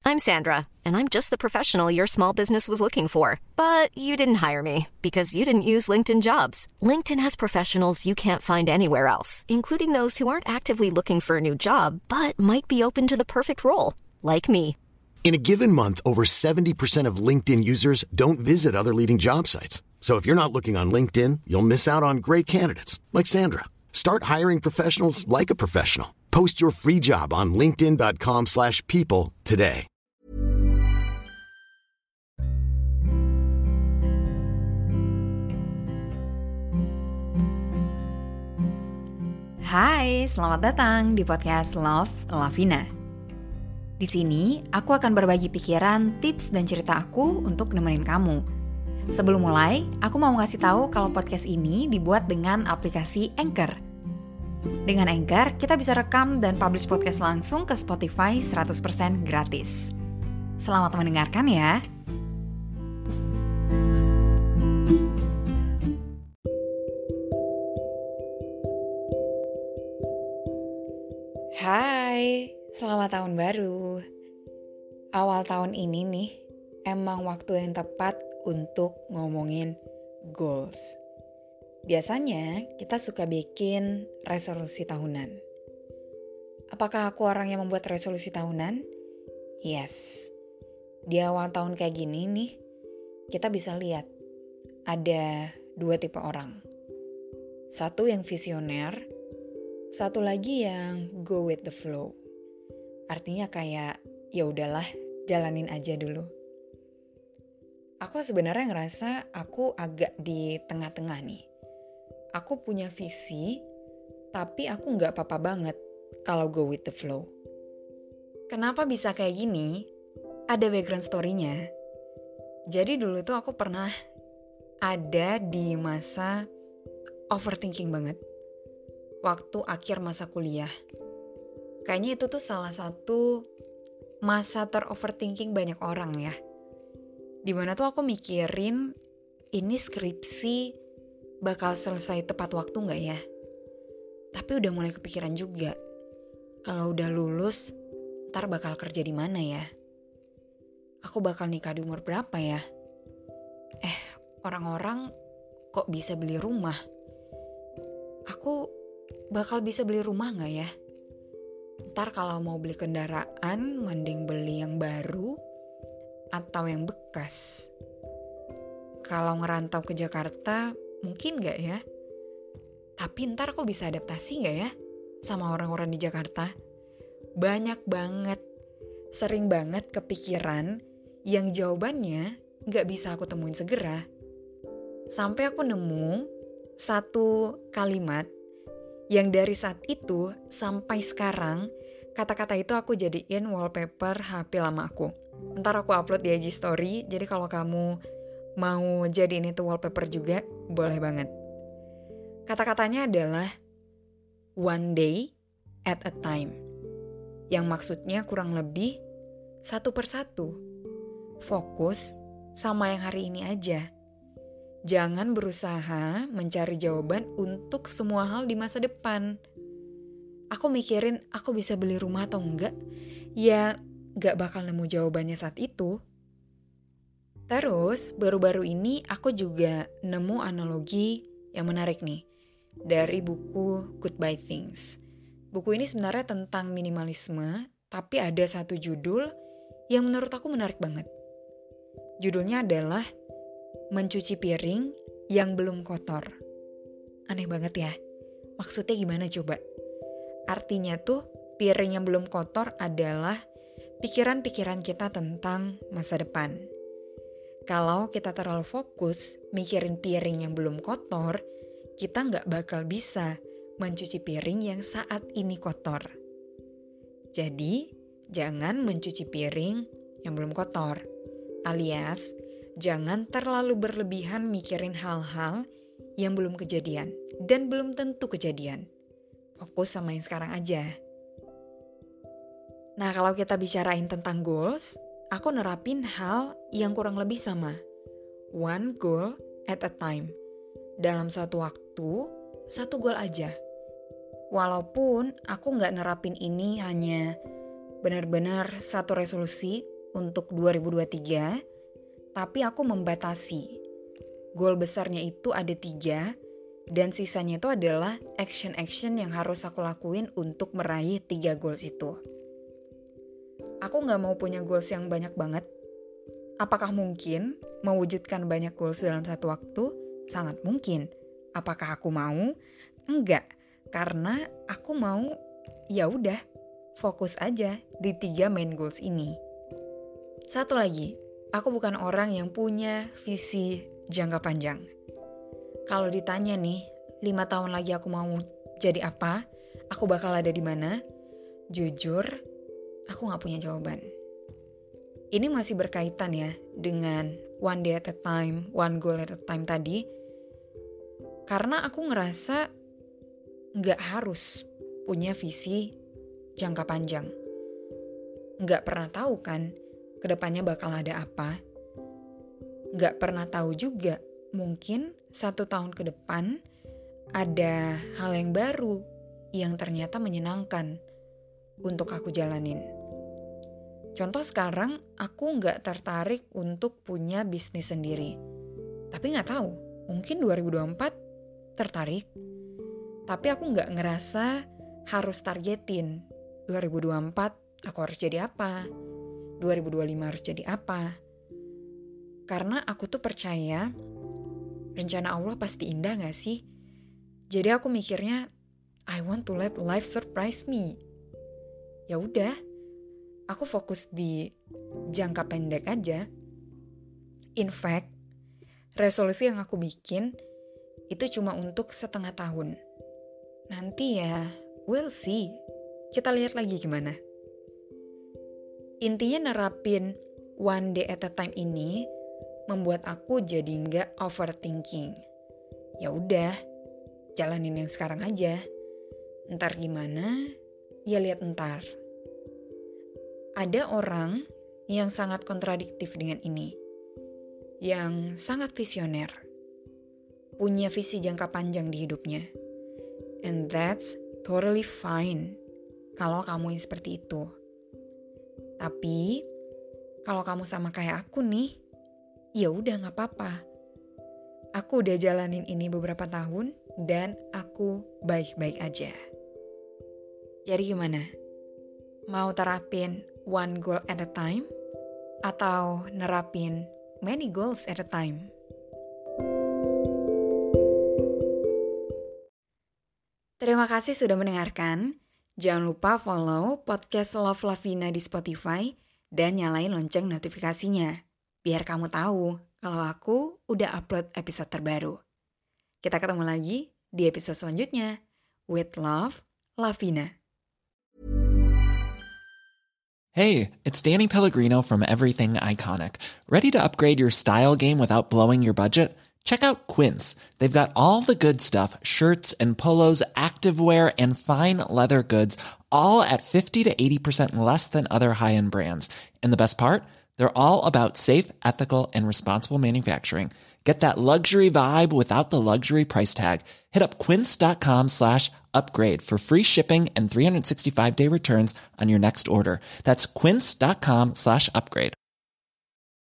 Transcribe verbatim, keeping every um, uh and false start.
I'm Sandra, and I'm just the professional your small business was looking for. But you didn't hire me because you didn't use LinkedIn Jobs. LinkedIn has professionals you can't find anywhere else, including those who aren't actively looking for a new job, but might be open to the perfect role, like me. In a given month, over seventy percent of LinkedIn users don't visit other leading job sites. So if you're not looking on LinkedIn, you'll miss out on great candidates like Sandra. Start hiring professionals like a professional. Post your free job on linkedin dot com slash people today. Hai, selamat datang di podcast Love Lavina. Di sini, aku akan berbagi pikiran, tips, dan cerita aku untuk nemenin kamu. Sebelum mulai, aku mau ngasih tahu kalau podcast ini dibuat dengan aplikasi Anchor. Dengan Anchor, kita bisa rekam dan publish podcast langsung ke Spotify seratus persen gratis. Selamat mendengarkan ya! Hai, selamat tahun baru. Awal tahun ini nih, emang waktu yang tepat untuk ngomongin goals. Biasanya kita suka bikin resolusi tahunan. Apakah aku orang yang membuat resolusi tahunan? Yes. Di awal tahun kayak gini nih, kita bisa lihat ada dua tipe orang. Satu yang visioner, satu lagi yang go with the flow. Artinya kayak ya udahlah, jalanin aja dulu. Aku sebenarnya ngerasa aku agak di tengah-tengah nih. Aku punya visi, tapi aku nggak apa-apa banget kalau go with the flow. Kenapa bisa kayak gini? Ada background story-nya. Jadi dulu tuh aku pernah ada di masa overthinking banget. Waktu akhir masa kuliah. Kayaknya itu tuh salah satu masa ter-overthinking banyak orang ya. Dimana tuh aku mikirin ini skripsi bakal selesai tepat waktu gak ya? Tapi udah mulai kepikiran juga. Kalau udah lulus, ntar bakal kerja di mana ya? Aku bakal nikah di umur berapa ya? Eh, orang-orang kok bisa beli rumah? Aku bakal bisa beli rumah gak ya? Ntar kalau mau beli kendaraan, mending beli yang baru atau yang bekas. Kalau ngerantau ke Jakarta, mungkin gak ya? Tapi ntar kok bisa adaptasi gak ya sama orang-orang di Jakarta? Banyak banget, sering banget kepikiran yang jawabannya gak bisa aku temuin segera. Sampai aku nemu satu kalimat yang dari saat itu sampai sekarang, kata-kata itu aku jadiin wallpaper H P lama aku. Ntar aku upload di I G story, jadi kalau kamu mau jadiin itu wallpaper juga, boleh banget. Kata-katanya adalah one day at a time. Yang maksudnya kurang lebih satu persatu. Fokus sama yang hari ini aja. Jangan berusaha mencari jawaban untuk semua hal di masa depan. Aku mikirin aku bisa beli rumah atau enggak, ya gak bakal nemu jawabannya saat itu. Terus baru-baru ini aku juga nemu analogi yang menarik nih dari buku Goodbye Things. Buku ini sebenarnya tentang minimalisme, tapi ada satu judul yang menurut aku menarik banget. Judulnya adalah Mencuci piring yang belum kotor. Aneh banget ya. Maksudnya gimana coba? Artinya tuh piring yang belum kotor adalah pikiran-pikiran kita tentang masa depan. Kalau kita terlalu fokus mikirin piring yang belum kotor, kita nggak bakal bisa mencuci piring yang saat ini kotor. Jadi, jangan mencuci piring yang belum kotor. Alias, jangan terlalu berlebihan mikirin hal-hal yang belum kejadian dan belum tentu kejadian. Fokus sama yang sekarang aja. Nah, kalau kita bicarain tentang goals, aku nerapin hal yang kurang lebih sama. One goal at a time. Dalam satu waktu, satu goal aja. Walaupun aku gak nerapin ini hanya benar-benar satu resolusi untuk dua ribu dua puluh tiga, tapi aku membatasi. Goal besarnya itu ada tiga, dan sisanya itu adalah action-action yang harus aku lakuin untuk meraih tiga goals itu. Aku gak mau punya goals yang banyak banget. Apakah mungkin mewujudkan banyak goals dalam satu waktu? Sangat mungkin. Apakah aku mau? Enggak, karena aku mau ya udah fokus aja di tiga main goals ini. Satu lagi, aku bukan orang yang punya visi jangka panjang. Kalau ditanya nih, lima tahun lagi aku mau jadi apa? Aku bakal ada di mana? Jujur, aku gak punya jawaban. Ini masih berkaitan ya dengan one day at a time, one goal at a time tadi. Karena aku ngerasa gak harus punya visi jangka panjang. Gak pernah tahu kan kedepannya bakal ada apa. Gak pernah tahu juga mungkin satu tahun ke depan ada hal yang baru yang ternyata menyenangkan untuk aku jalanin. Contoh sekarang aku gak tertarik untuk punya bisnis sendiri. Tapi gak tahu, mungkin dua ribu dua puluh empat tertarik. Tapi aku gak ngerasa harus targetin dua ribu dua puluh empat aku harus jadi apa, dua ribu dua puluh lima harus jadi apa. Karena aku tuh percaya rencana Allah pasti indah gak sih? Jadi aku mikirnya I want to let life surprise me. Ya udah, aku fokus di jangka pendek aja. In fact, resolusi yang aku bikin itu cuma untuk setengah tahun. Nanti ya, we'll see. Kita lihat lagi gimana. Intinya nerapin one day at a time ini membuat aku jadi nggak overthinking. Ya udah, jalanin yang sekarang aja. Ntar gimana? Ya lihat ntar. Ada orang yang sangat kontradiktif dengan ini, yang sangat visioner, punya visi jangka panjang di hidupnya. And that's totally fine kalau kamu yang seperti itu. Tapi kalau kamu sama kayak aku nih, ya udah gak apa-apa. Aku udah jalanin ini beberapa tahun dan aku baik-baik aja. Jadi gimana? Mau terapin one goal at a time? Atau nerapin many goals at a time? Terima kasih sudah mendengarkan. Jangan lupa follow podcast Love Lavina di Spotify dan nyalain lonceng notifikasinya. Biar kamu tahu kalau aku udah upload episode terbaru. Kita ketemu lagi di episode selanjutnya. With love, Lavina. Hey, it's Danny Pellegrino from Everything Iconic. Ready to upgrade your style game without blowing your budget? Check out Quince. They've got all the good stuff, shirts and polos, activewear, and fine leather goods, all at fifty to eighty percent less than other high-end brands. And the best part? They're all about safe, ethical, and responsible manufacturing. Get that luxury vibe without the luxury price tag. Hit up quince.com slash upgrade for free shipping and three sixty-five day returns on your next order. That's quince.com slash upgrade.